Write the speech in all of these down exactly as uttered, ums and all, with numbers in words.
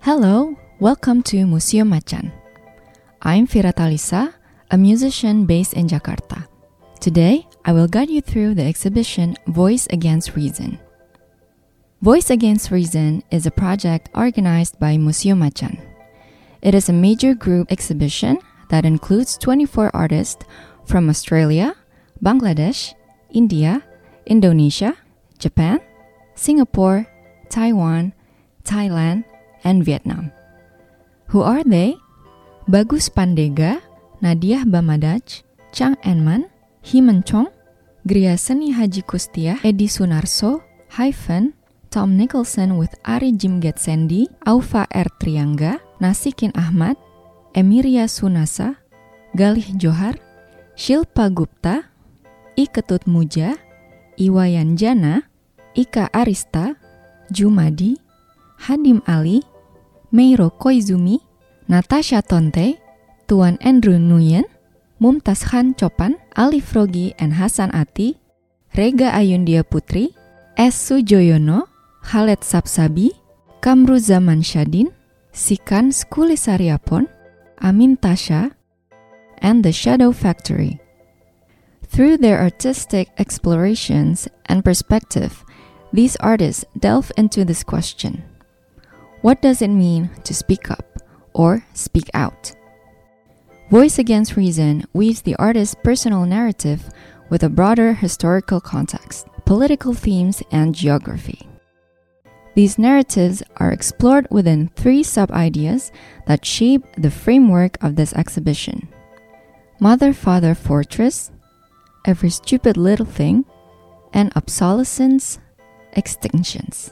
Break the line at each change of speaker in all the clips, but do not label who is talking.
Hello, welcome to Museum Macan. I'm Vira Talisa, a musician based in Jakarta. Today, I will guide you through the exhibition Voice Against Reason. Voice Against Reason is a project organized by Museum Macan. It is a major group exhibition that includes twenty-four artists from Australia, Bangladesh, India, Indonesia, Japan, Singapore, Taiwan, Thailand, and Vietnam. Who are they? Bagus Pandega, Nadia Bamadaj, Chang Enman, Himan Chong, Gria Seni Haji Kustia, Edi Sunarso, Hyphen, Tom Nicholson with Ari Jim Getsendi, Aufa R. Triangga, Nasikin Ahmad, Emiria Sunasa, Galih Johar, Shilpa Gupta, I Ketut Muja, Iwayan Jana, Ika Arista, Jumadi, Hadim Ali, Meiro Koizumi, Natasha Tonte, Tuan Andrew Nguyen, Mumtaz Khan Chopan, Ali Frogi and Hasan Ati, Rega Ayundia Putri, S. Sujoyono, Khaled Sapsabi, Kamru Zaman Syadin, Sikan Skulisariapon, Amin Tasha, and The Shadow Factory. Through their artistic explorations and perspective, these artists delve into this question. What does it mean to speak up or speak out? Voice Against Reason weaves the artist's personal narrative with a broader historical context, political themes, and geography. These narratives are explored within three sub-ideas that shape the framework of this exhibition: Mother, Father, Fortress, Every Stupid Little Thing, and Obsolescence, Extinctions.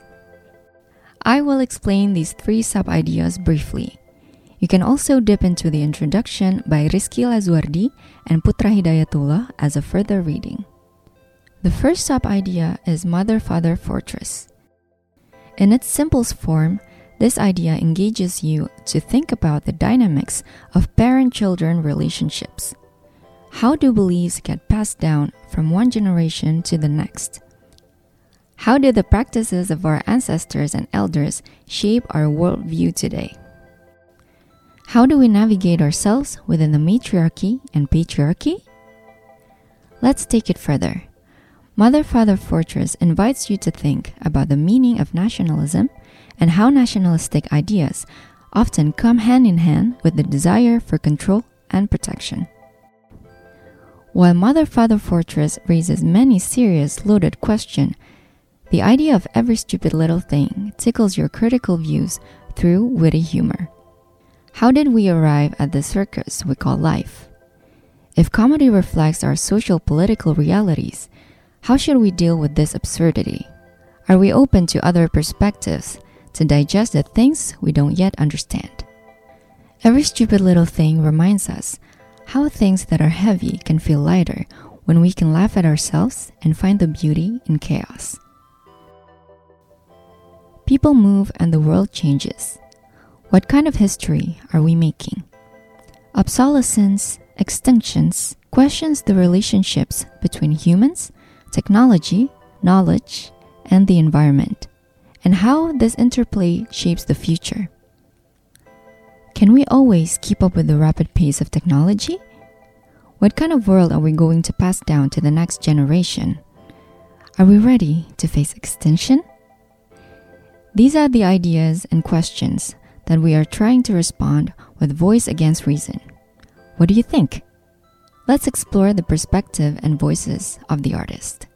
I will explain these three sub-ideas briefly. You can also dip into the introduction by Rizky Lazuardi and Putra Hidayatullah as a further reading. The first sub-idea is Mother, Father, Fortress. In its simplest form, this idea engages you to think about the dynamics of parent-children relationships. How do beliefs get passed down from one generation to the next? How did the practices of our ancestors and elders shape our worldview today? How do we navigate ourselves within the matriarchy and patriarchy? Let's take it further. Mother, Father, Fortress invites you to think about the meaning of nationalism and how nationalistic ideas often come hand in hand with the desire for control and protection. While Mother, Father, Fortress raises many serious, loaded questions, the idea of every stupid little thing tickles your critical views through witty humor. How did we arrive at the circus we call life? If comedy reflects our social political realities, how should we deal with this absurdity? Are we open to other perspectives to digest the things we don't yet understand? Every stupid little thing reminds us how things that are heavy can feel lighter when we can laugh at ourselves and find the beauty in chaos. People move and the world changes. What kind of history are we making? Obsolescence, extinctions questions the relationships between humans, technology, knowledge, and the environment, and how this interplay shapes the future. Can we always keep up with the rapid pace of technology? What kind of world are we going to pass down to the next generation? Are we ready to face extinction? These are the ideas and questions that we are trying to respond with Voice Against Reason. What do you think? Let's explore the perspective and voices of the artist.